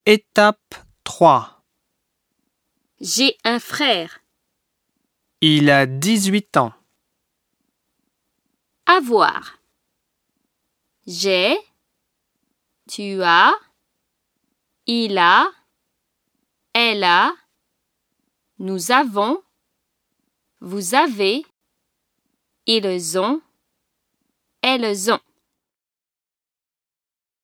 Étape 3. J'ai un frère. Il a 18 ans. Avoir. J'ai, tu as, il a, elle a, nous avons, vous avez, ils ont, elles ont.